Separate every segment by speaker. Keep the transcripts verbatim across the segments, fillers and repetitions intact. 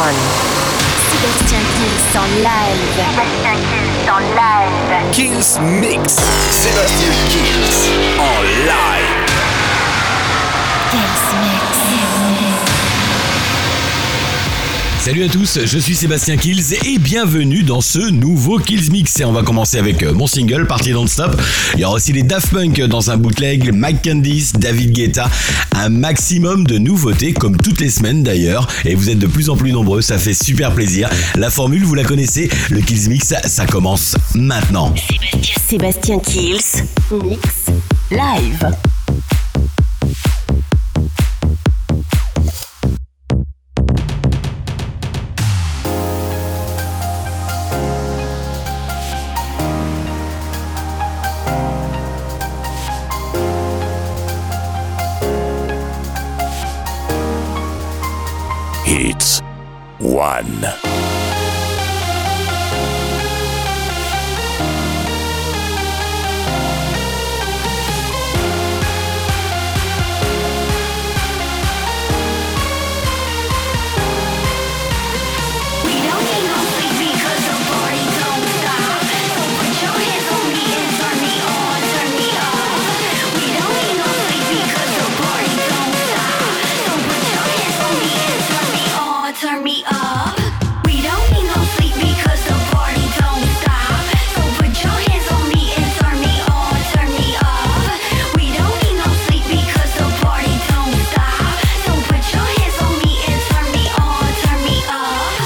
Speaker 1: one. Sébastien Kills en live. Sébastien Kills en live.
Speaker 2: Kills Mix. Sébastien Kills en live.
Speaker 1: Kills Mix.
Speaker 3: Salut à tous, je suis Sébastien Kills et bienvenue dans ce nouveau Kills Mix. Et on va commencer avec mon single Party Don't Stop. Il y aura aussi les Daft Punk dans un bootleg, Mike Candice, David Guetta, un maximum de nouveautés comme toutes les semaines d'ailleurs. Et vous êtes de plus en plus nombreux, ça fait super plaisir. La formule, vous la connaissez, le Kills Mix, ça, ça commence maintenant.
Speaker 1: Sébastien, Sébastien Kills Mix live.
Speaker 2: Hits one.
Speaker 4: Turn me up. We don't need no sleep because the party don't stop. So put your hands on me and turn me on, turn me up. We don't need no sleep because the party don't stop. So put your hands on me and turn me on, turn me up.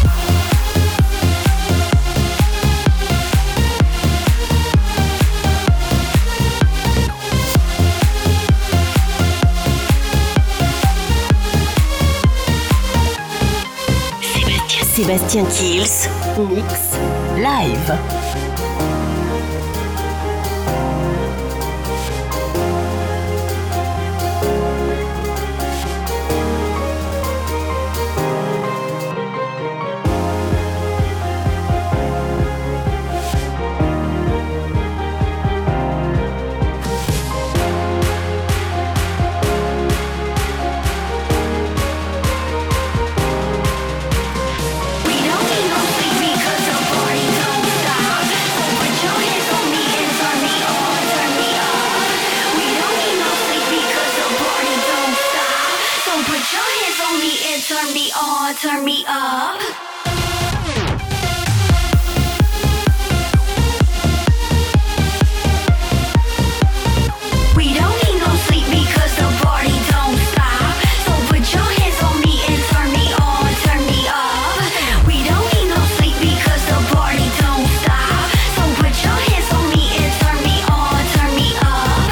Speaker 1: Sébastien Kills Mix live. Turn me on, turn me up. We don't need no sleep because the party don't stop. So put your hands on me and turn me on, turn me up. We don't need no sleep because the party don't stop. So put your hands on me and turn me on, turn me up.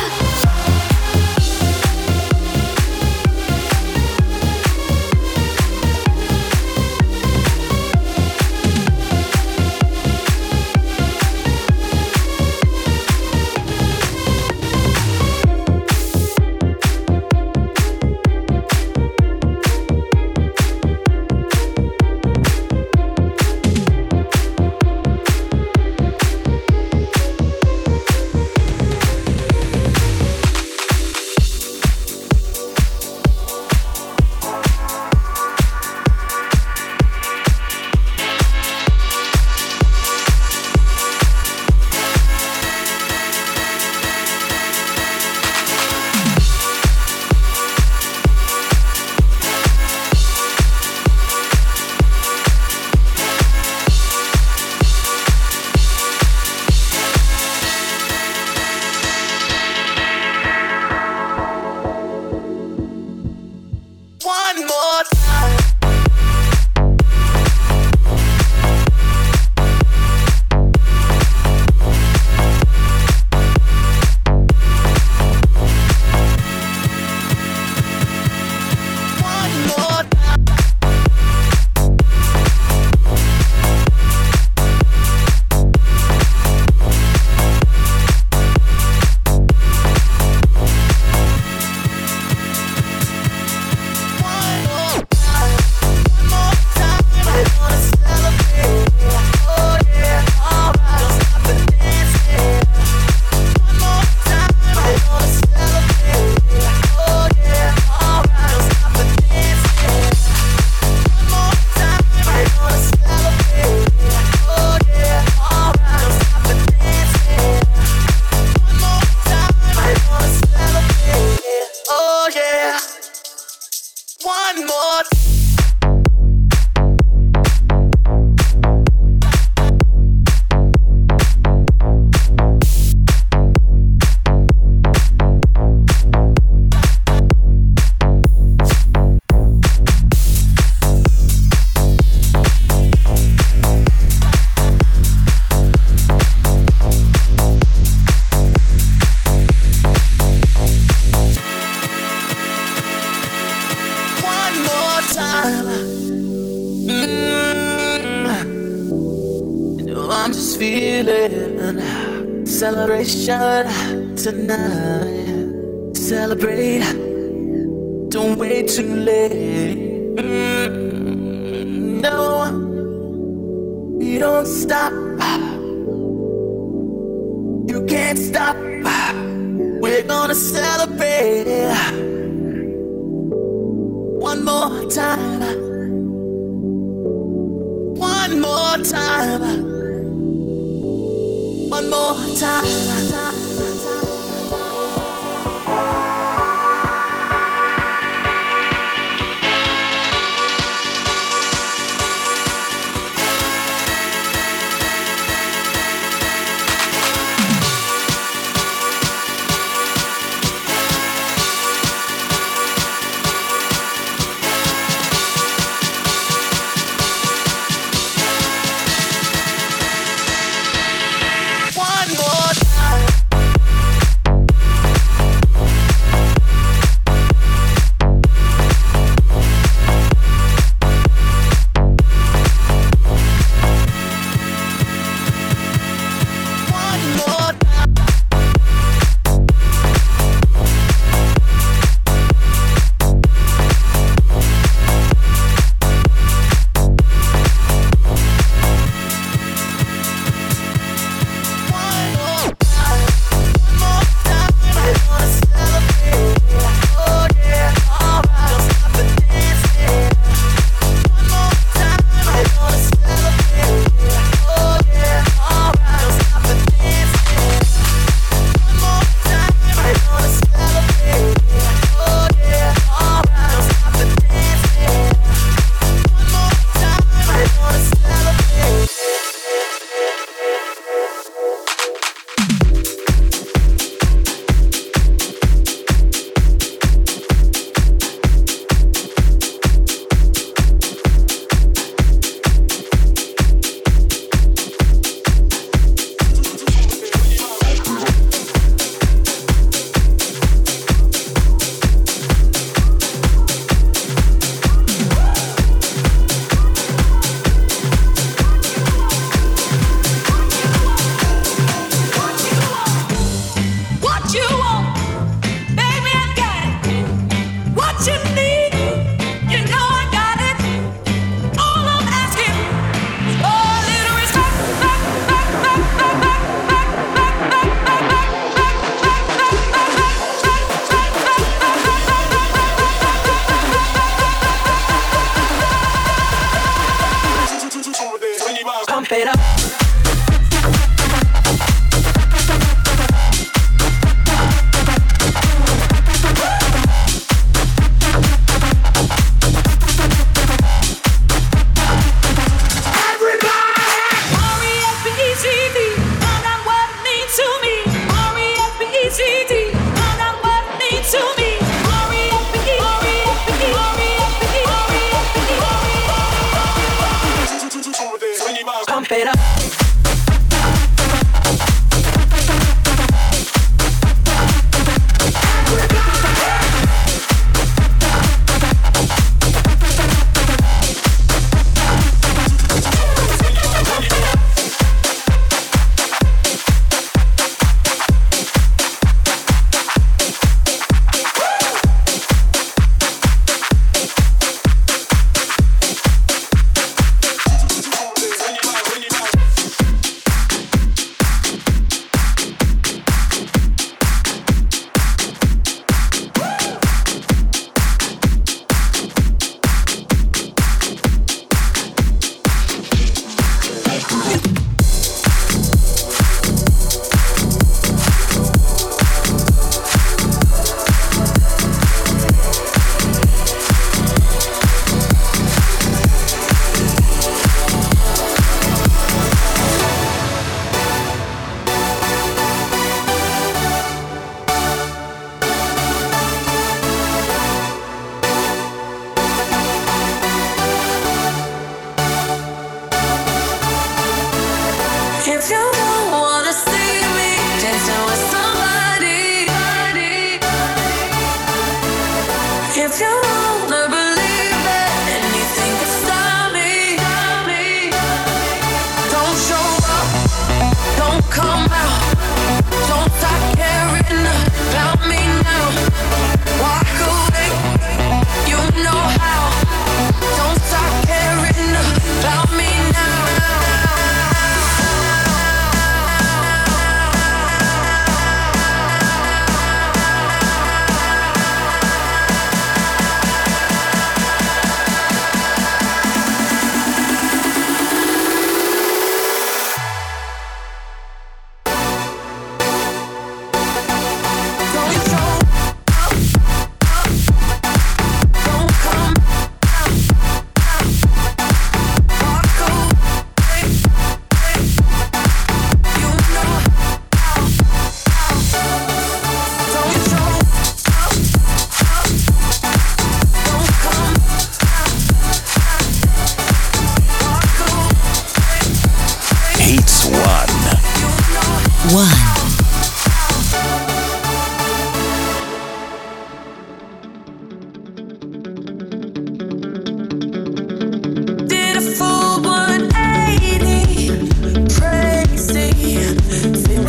Speaker 5: Celebration tonight. Celebrate. Don't wait too late. Mm, no, you don't stop. You can't stop. We're gonna celebrate one more time. One more time. One more time. One more time.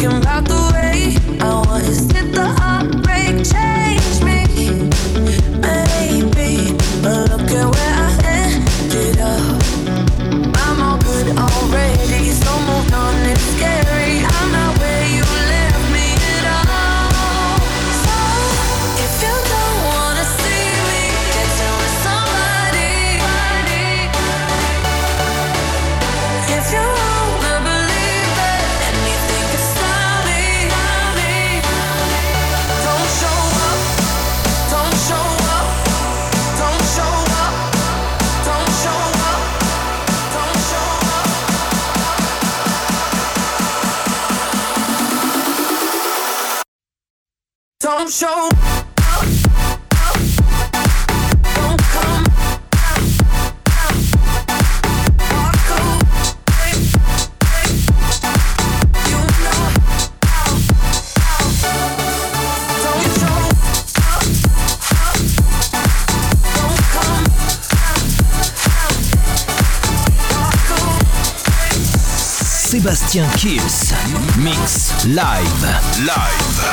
Speaker 5: thinking about the way I was. Did the heartbreak change me? Maybe, but look at where I ended up. I'm all good already, so moved on, it's scary. I'm not where you left me at all. So, if you don't wanna see me, get to with somebody. If you wanna believe that anything can stop me, don't show up, don't show up, don't show up, don't show up, don't show up. Don't show up, don't come, walk away, you know. Don't show up, don't come, walk away.
Speaker 6: Sébastien Kills, mix live.
Speaker 2: Live.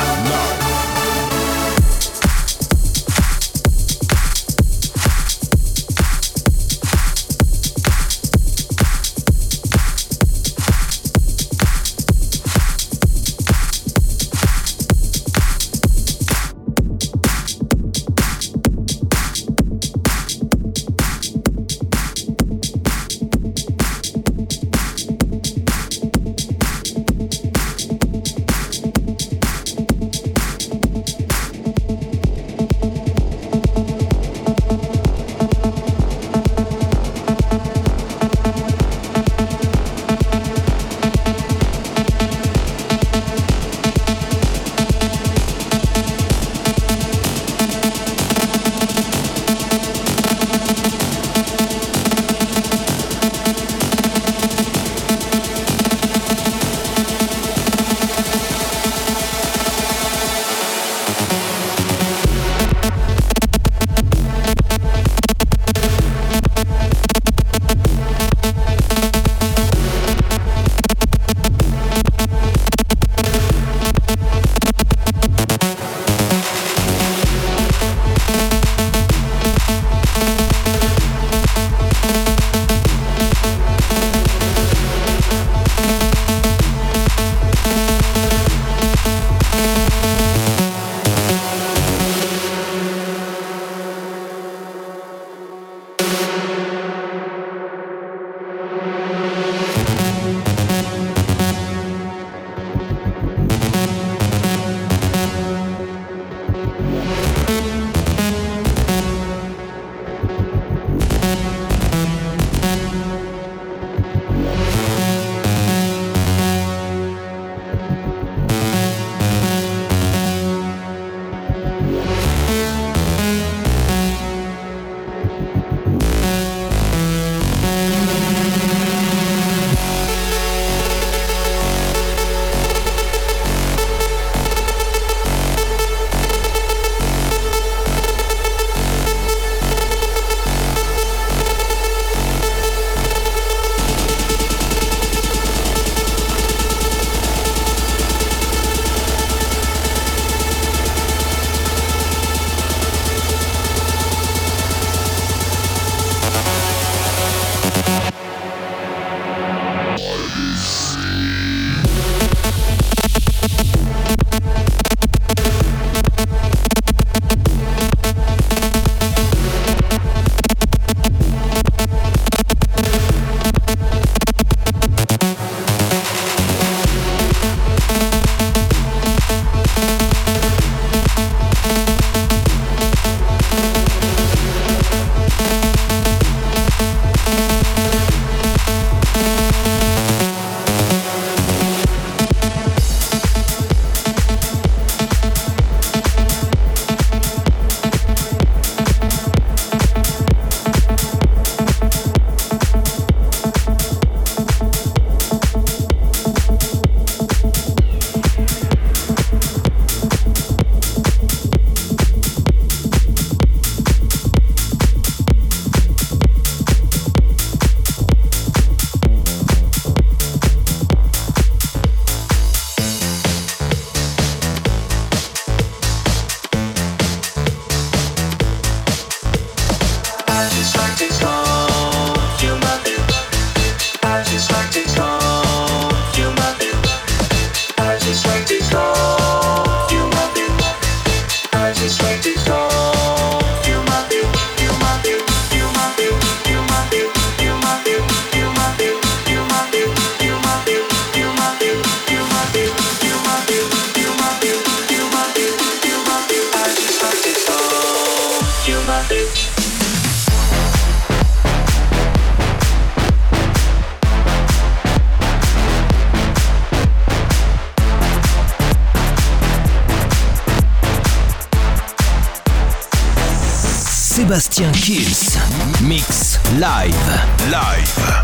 Speaker 6: Sébastien Kills. Mix live.
Speaker 2: Live.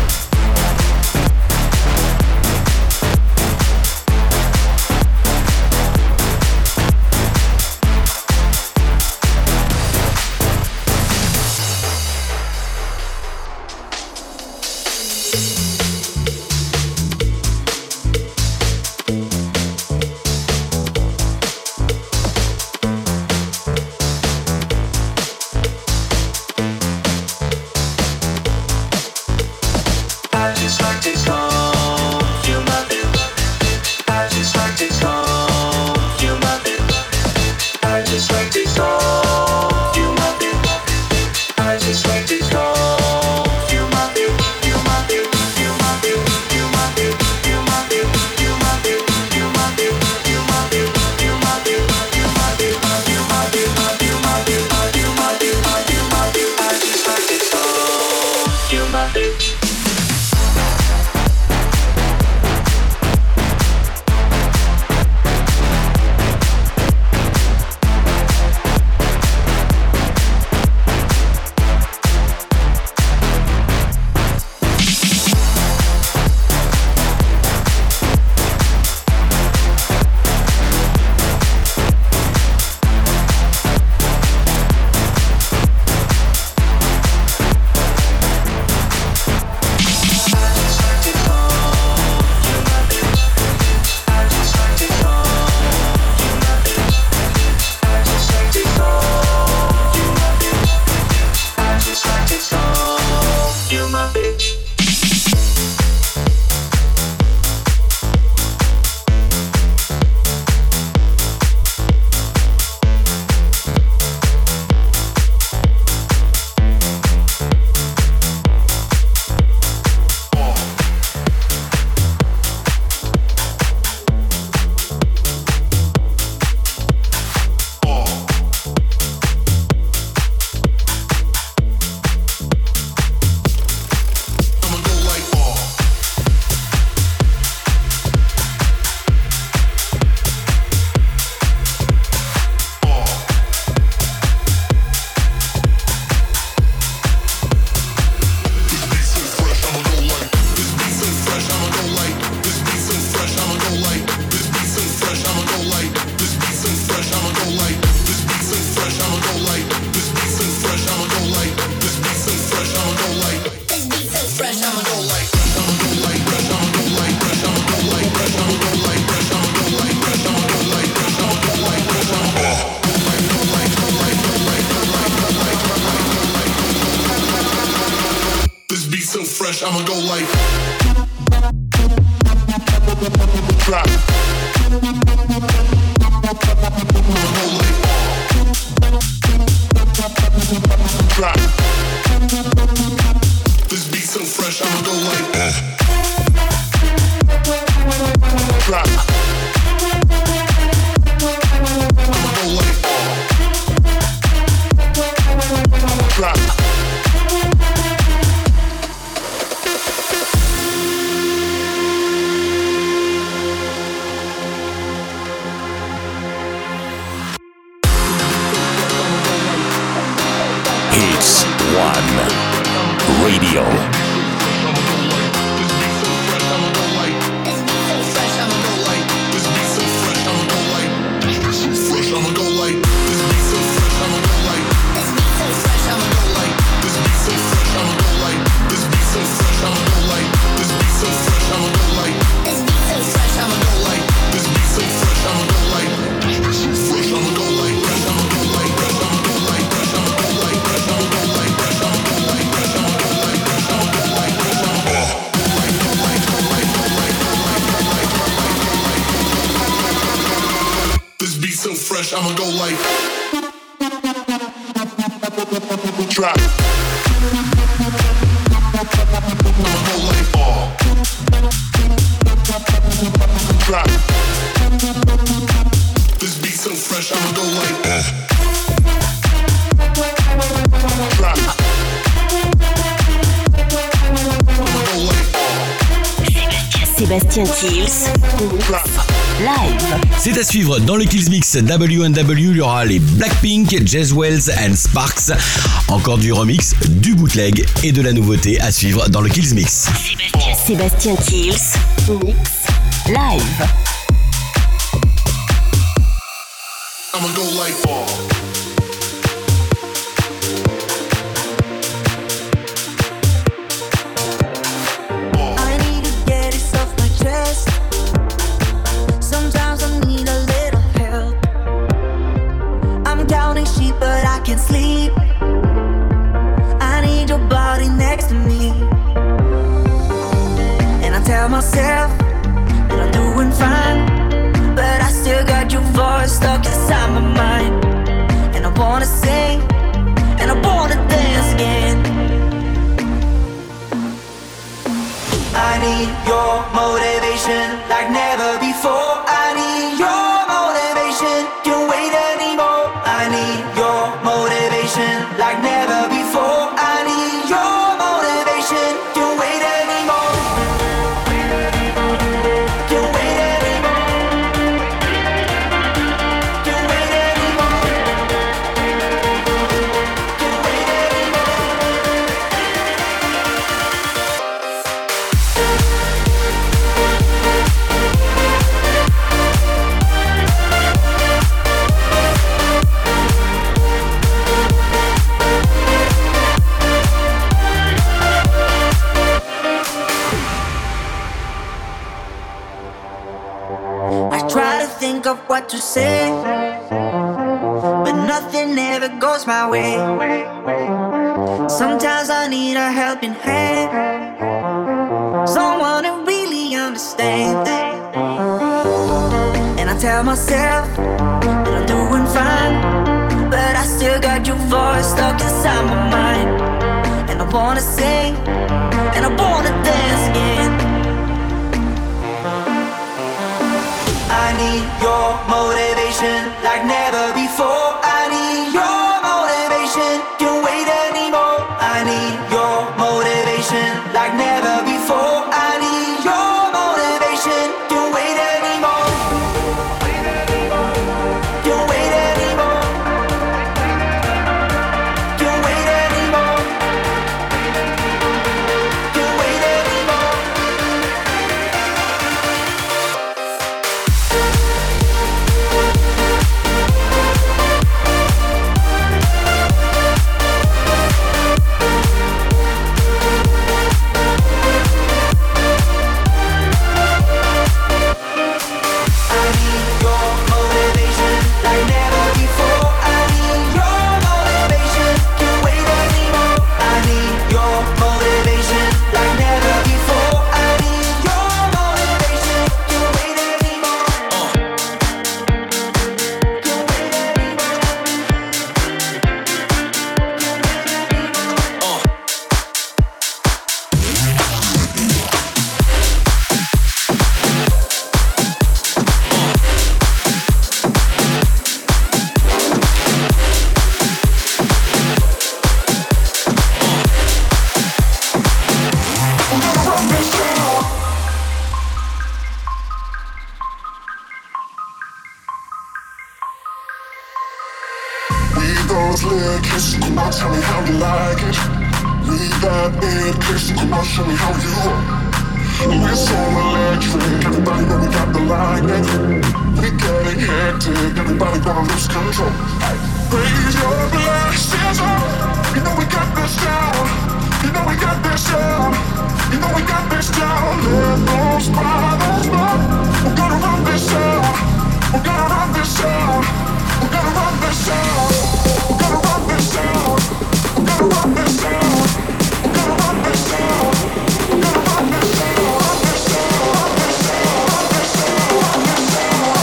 Speaker 7: I'ma go like drop. I'ma go like drop. This beat so fresh, I'ma go like drop. I'ma go like drop.
Speaker 2: Radio. I'ma go like drop. I'ma go like all drop. This beat so fresh, I'ma go like drop. I'ma go like
Speaker 8: Sébastien Kills.
Speaker 7: drop.
Speaker 4: live.
Speaker 3: C'est à suivre dans le Kills Mix W and W, il y aura les Blackpink, Jezwells and Sparks. Encore du remix, du bootleg et de la nouveauté à suivre dans le Kills Mix.
Speaker 4: Sébastien Kills, Mix, live.
Speaker 2: I'ma go like ball.
Speaker 5: I need to get it off my chest. Sometimes I need a little help. I'm counting sheep, but I can't sleep. I need your body next to me. And I tell myself that I'm doing fine, but I still got your voice stuck inside my mind. And I wanna sing, and I wanna dance again. I need your motivation like never before. I need your motivation, can't wait anymore. I need your motivation like never before. I need your motivation, can't wait anymore. Can't wait anymore. Can't wait anymore. Can't wait anymore. I try to think of what to say, but nothing ever goes my way. Sometimes I need a helping hand, someone who really understands. And I tell myself that I'm doing fine, but I still got your voice stuck inside my mind. And I wanna sing, and I wanna dance again. I need your motivation like never before. I need your motivation, can't wait anymore. I need your motivation like never before. I need your motivation, can't wait anymore. Can't wait anymore. Can't wait anymore. Can't wait anymore. I need your motivation like never before. I need your motivation, can't wait anymore. I need your motivation like never before. I need your motivation, can't wait anymore. Can't wait anymore.
Speaker 2: Read those lyrics, come on, tell me how you like it. Read that big kiss, come on, show me how you roll. We're so electric, everybody know we got the lightning. We getting hectic, everybody gonna lose control. Raise your glasses up, you know we got this down. You know we got this down. You know we got this down. Let those bottles burn. We're gonna run this out. We're gonna run this out. We're gonna run this out. We're gonna run this out. We're gonna run this out. We're gonna run this out. We're gonna run this out. Run this out. Run this out. Run this out. Run this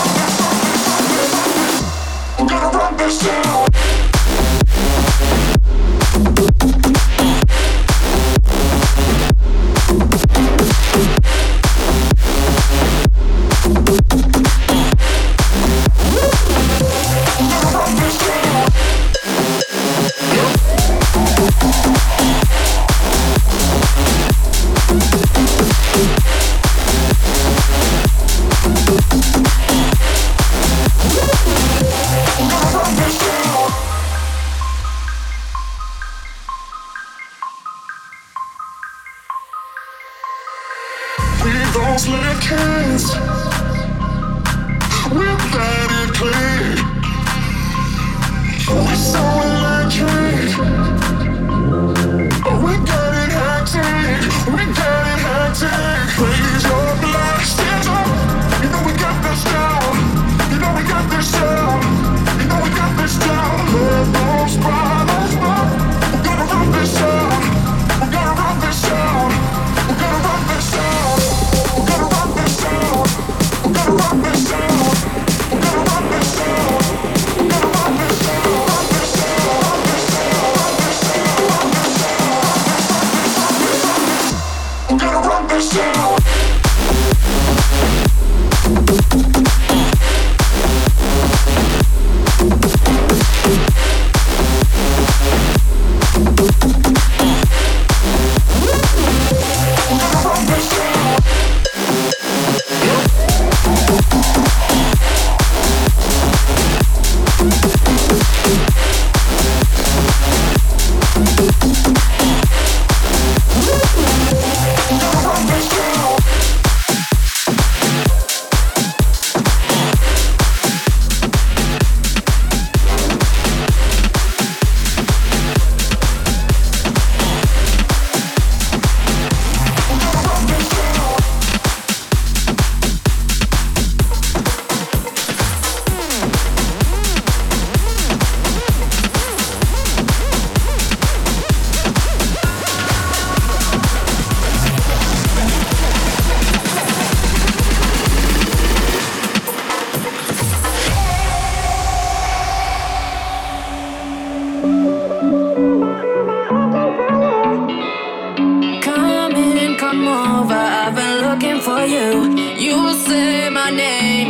Speaker 2: out. We're gonna run this out.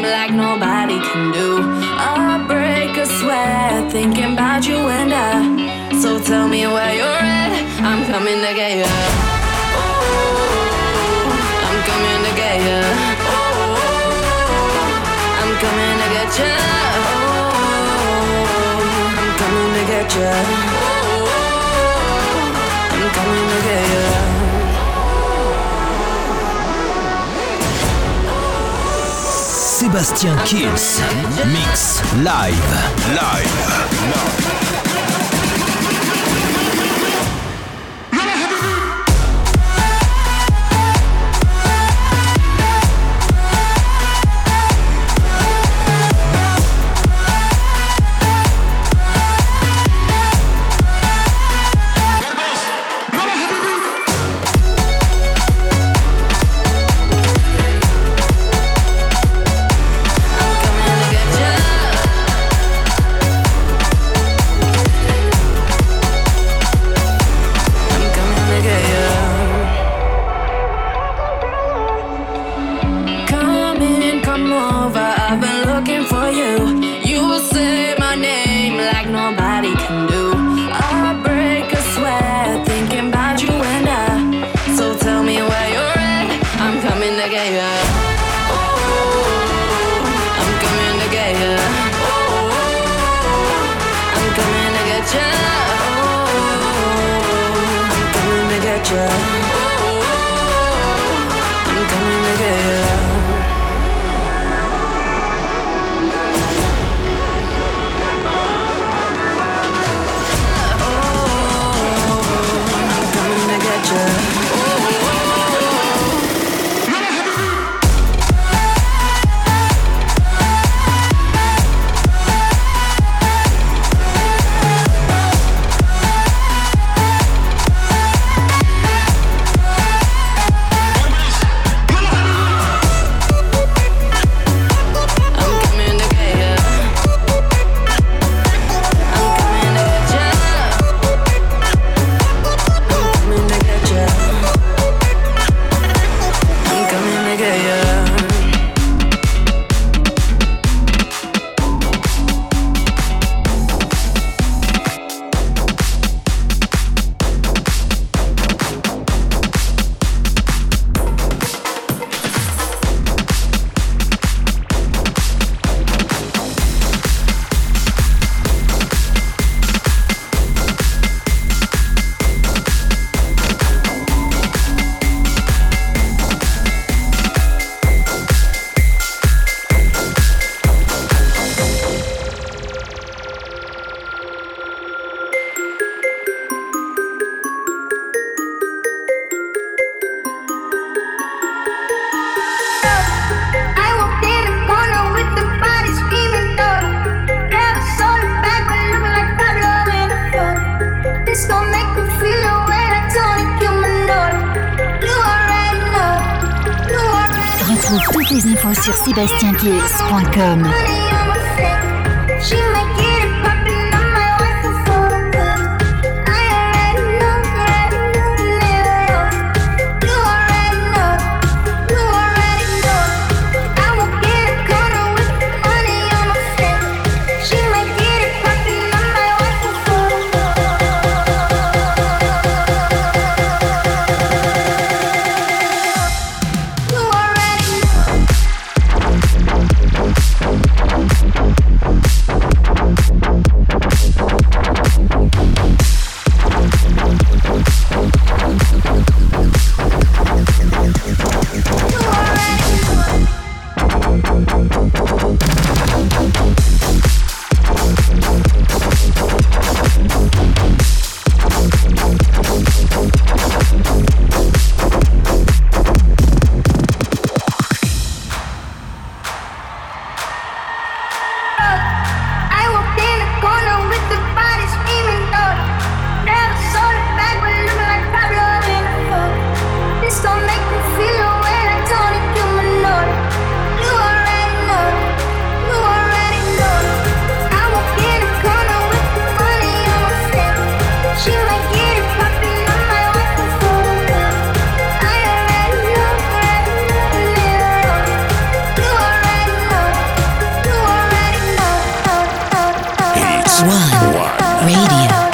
Speaker 5: like nobody can do. I break a sweat thinking about you and I. So tell me where you're at, I'm coming to get you. Oh, I'm coming to get you. Oh, I'm coming to get you. Oh, I'm coming to get you. Oh, I'm coming to get you.
Speaker 6: Sébastien Kills, mix live, live, live.
Speaker 8: Toutes les infos sur sébastien kills point com.
Speaker 1: You already know.
Speaker 8: Radio.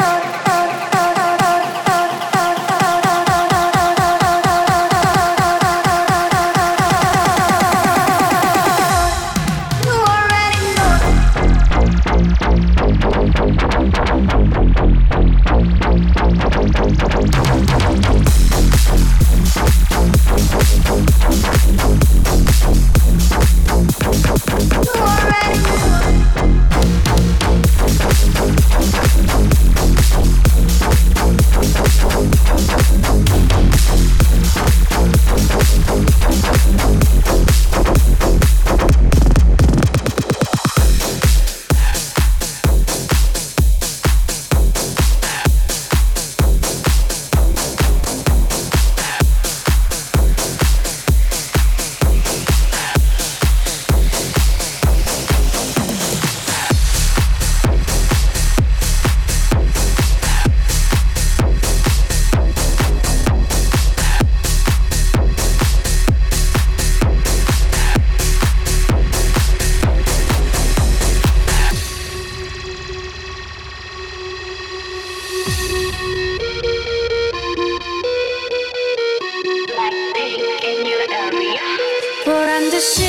Speaker 5: 보란 듯이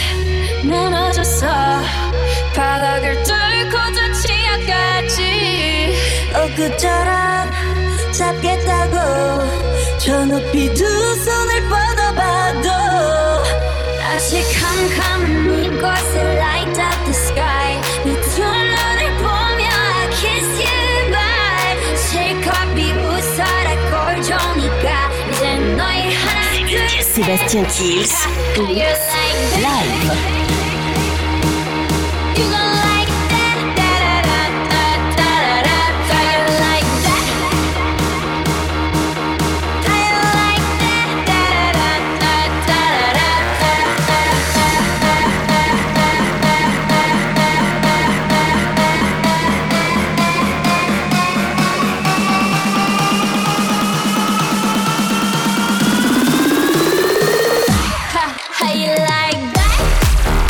Speaker 5: 무너져서 바닥을 뚫고 저 치아까지 엊그처럼 잡겠다고 저 높이 두 손을 뻗어봐도 다시 캄캄한 이곳에 light up the sky 내 두 눈을 보며 I kiss you bye 실컷 비웃어라 꼴 좋으니까 이제 너희 하나 둘
Speaker 8: Sébastien Kills, live.
Speaker 5: How you like that?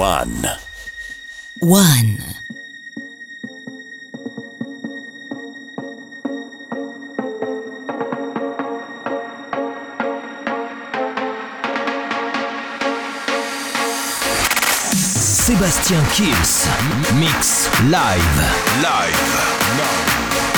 Speaker 6: One.
Speaker 9: One.
Speaker 6: Sébastien Kills, mix live, live, live.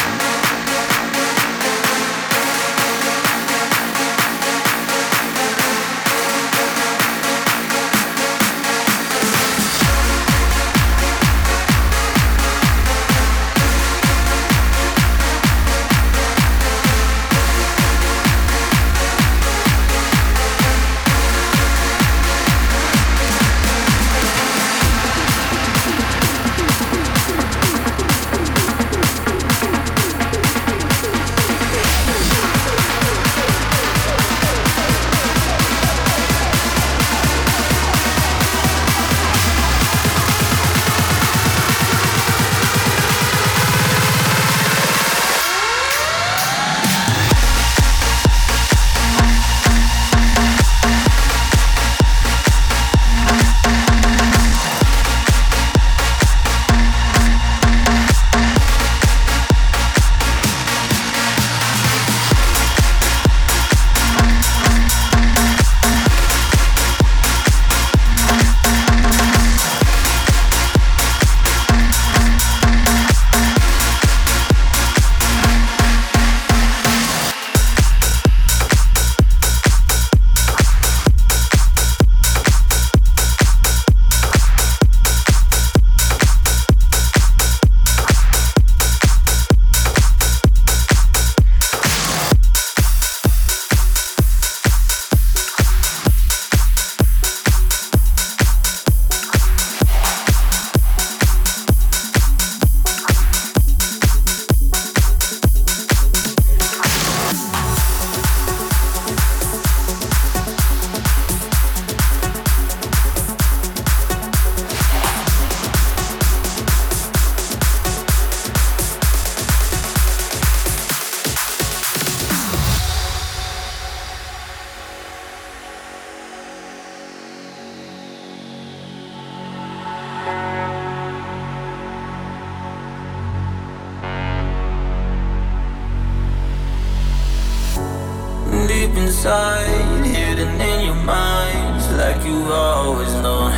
Speaker 10: Inside, hidden in your mind, like you always know.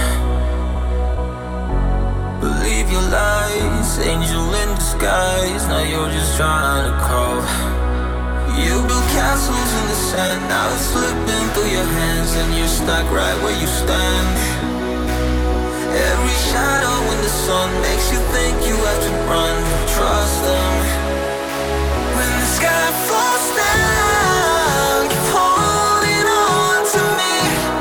Speaker 10: Believe your lies, angel in disguise. Now you're just trying to crawl. You build castles in the sand, now it's slipping through your hands, and you're stuck right where you stand. Every shadow in the sun makes you think you have to run. Trust them. When the sky falls down, keep holding on to me.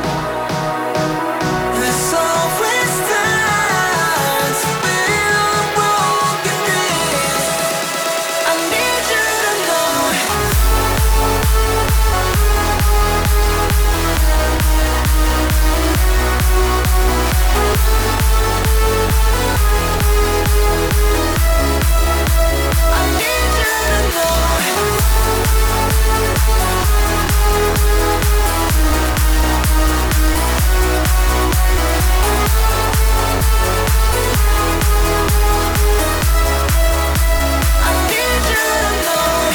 Speaker 10: There's always time to build broken dreams. I need you to know. I need you to know. I need you to know.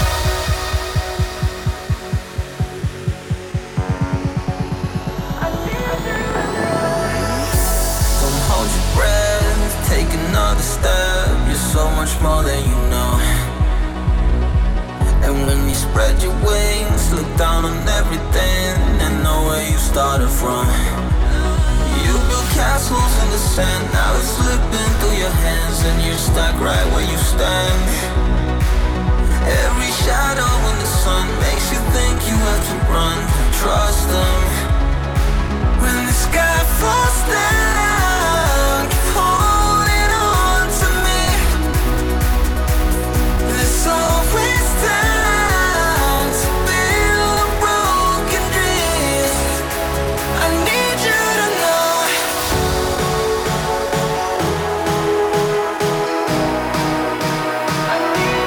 Speaker 10: Don't hold your breath, take another step. You're so much more than you know. And when you spread your wings, look down on everything and know where you started from. You build castles in the sand, now it's slipping through your hands, and you're stuck right where you stand. Every shadow in the sun makes you think you have to run. Trust them. When the sky falls down, keep holding on to me. There's always time to build broken dreams. I need you to know. I need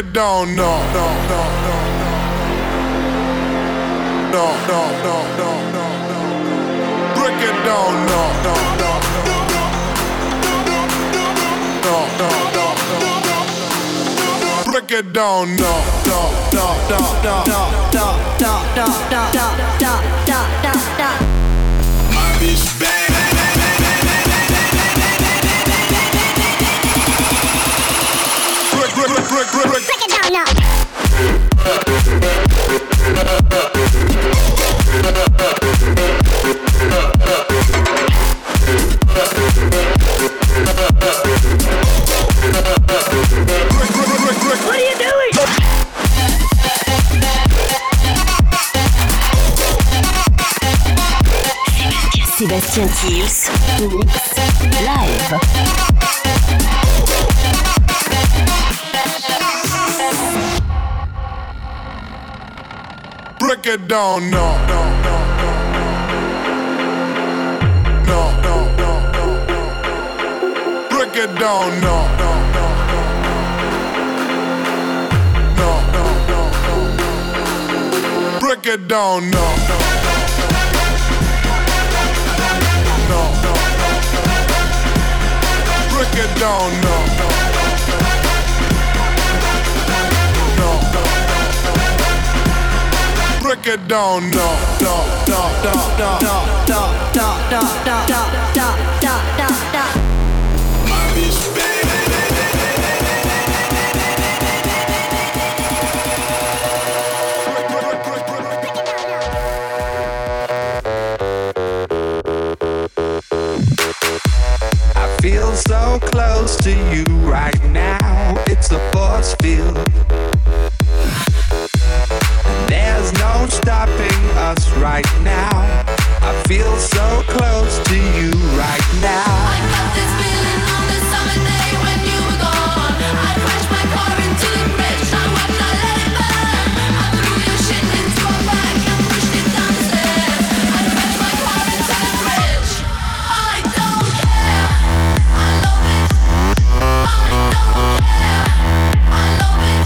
Speaker 2: it down now. No, no, no, no, no, no, no, no, no. Break it down now. No, no, no, no, no, no, no. Break it down now. No, no, no, no, no, no, no, no, no, no, no, no, no, no.
Speaker 7: My bitch bad. Break, break, break, break, break, break.
Speaker 1: Break it down now. What are you doing?
Speaker 8: Sébastien Kills, Mix Live.
Speaker 2: Break it down now. No, no, no, no, no, no, no. Break it down now. No, no, no, no, no, no. Break it down now. No, no, break it down now. No, break it down now. No, no, no, no, no, no, no, no, no, no, no, no, no, no.
Speaker 7: My bitch bad.
Speaker 11: Feel so close to you right now. It's a force field. And there's no stopping us right now. I feel so close to you right now.
Speaker 5: I got this feeling on the summer day when you were gone. I crashed my car into the bridge. I would not let it burn. I threw your shit into a bag and pushed it down the stairs. I crashed my car into the bridge. I don't care. I love it. I don't care. I love it.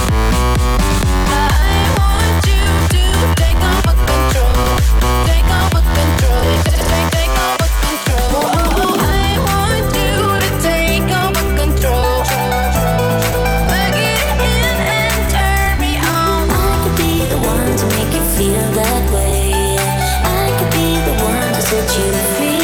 Speaker 5: I want you to take over control. Take over control. Take, take over control. I want you to take over control. Plug it in and turn me on.
Speaker 1: I could be the one to make you feel that way. I could be the one to set you free.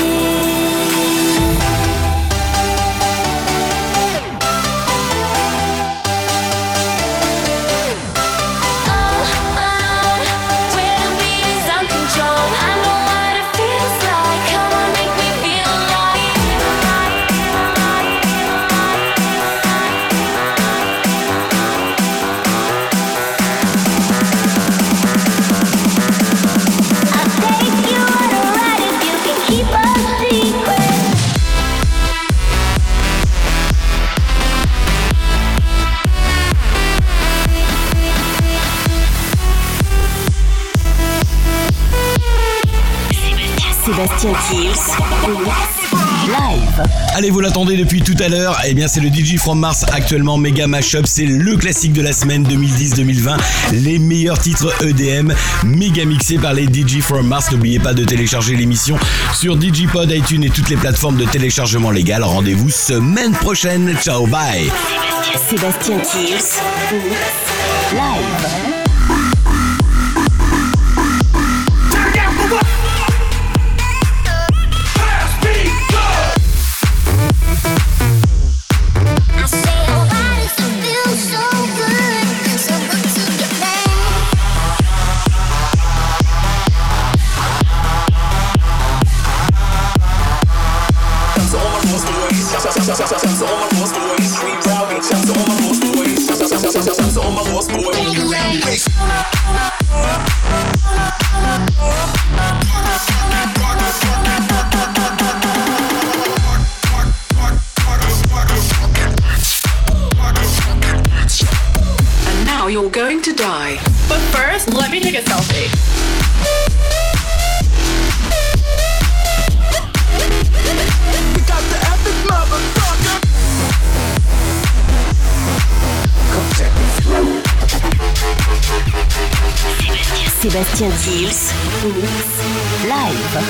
Speaker 8: Sébastien Kills, Live.
Speaker 3: Allez, vous l'attendez depuis tout à l'heure. Eh bien, c'est le D J From Mars actuellement Mega Mashup. C'est le classique de la semaine deux mille dix deux mille vingt. Les meilleurs titres E D M méga mixés par les D J From Mars. N'oubliez pas de télécharger l'émission sur Digipod, iTunes et toutes les plateformes de téléchargement légal. Rendez-vous semaine prochaine. Ciao, bye.
Speaker 8: Sébastien Kills, Live.
Speaker 12: And now you're going to die. But first, let me take a selfie.
Speaker 11: We got the epic motherfucker. Come check this.
Speaker 8: Sébastien Kills, Mix Live.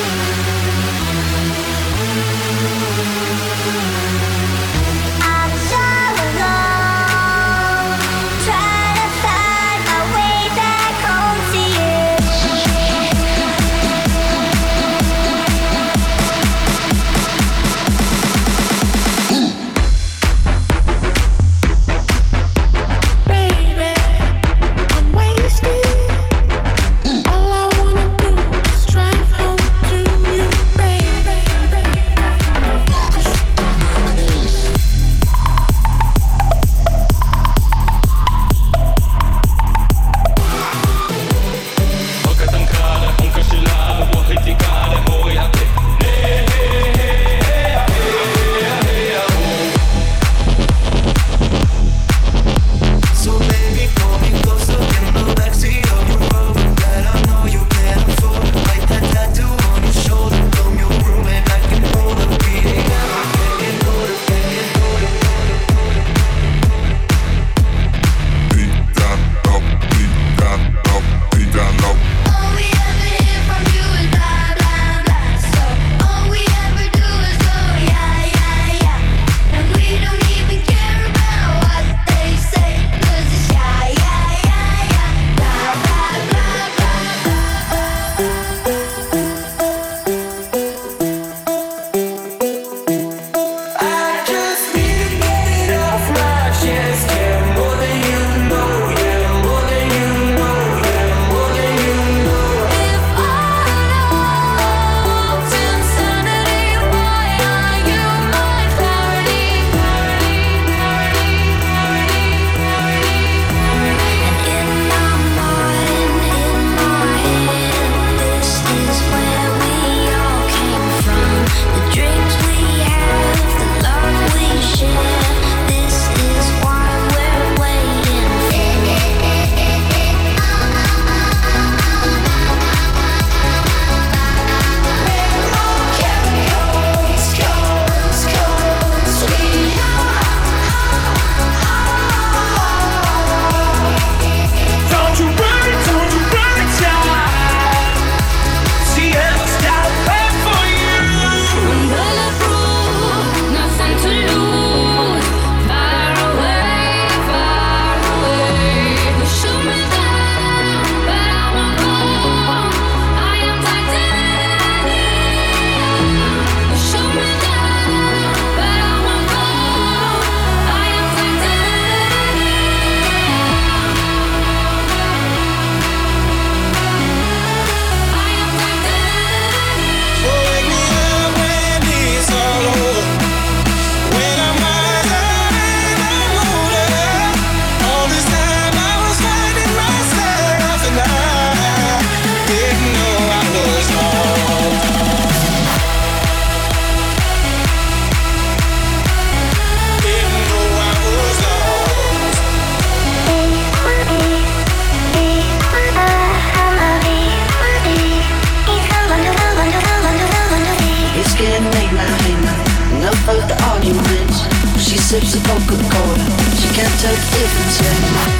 Speaker 13: sips of Coca-Cola. She can't tell the difference anymore.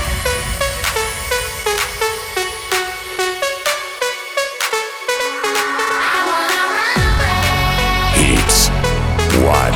Speaker 14: It's one.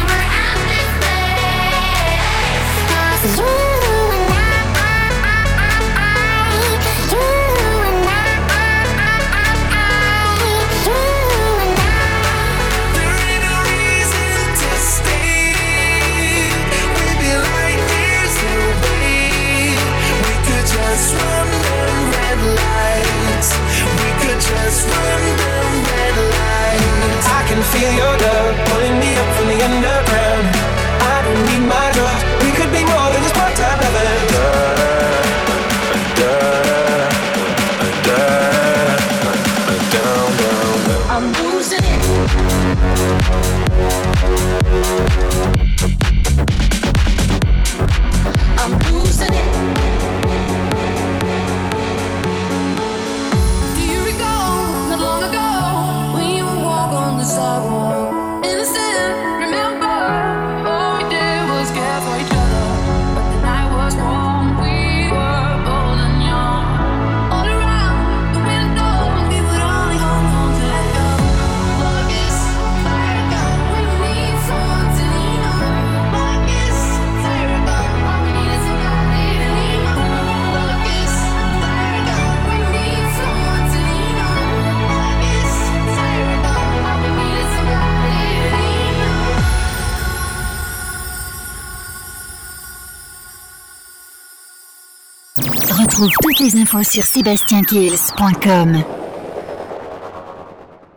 Speaker 15: Feel your love pulling me up from the underground. I don't need my drugs. We could be more than just part-time lovers. Da, da, da, da, down, down, down. I'm losing it. I'm losing it.
Speaker 5: Do you recall not long ago when you would walk on the sidewalk? Innocent, remember, all we did was care for each other. But the night was warm, we were bold and young. All around
Speaker 8: Retrouve toutes les infos sur sébastien kills point com.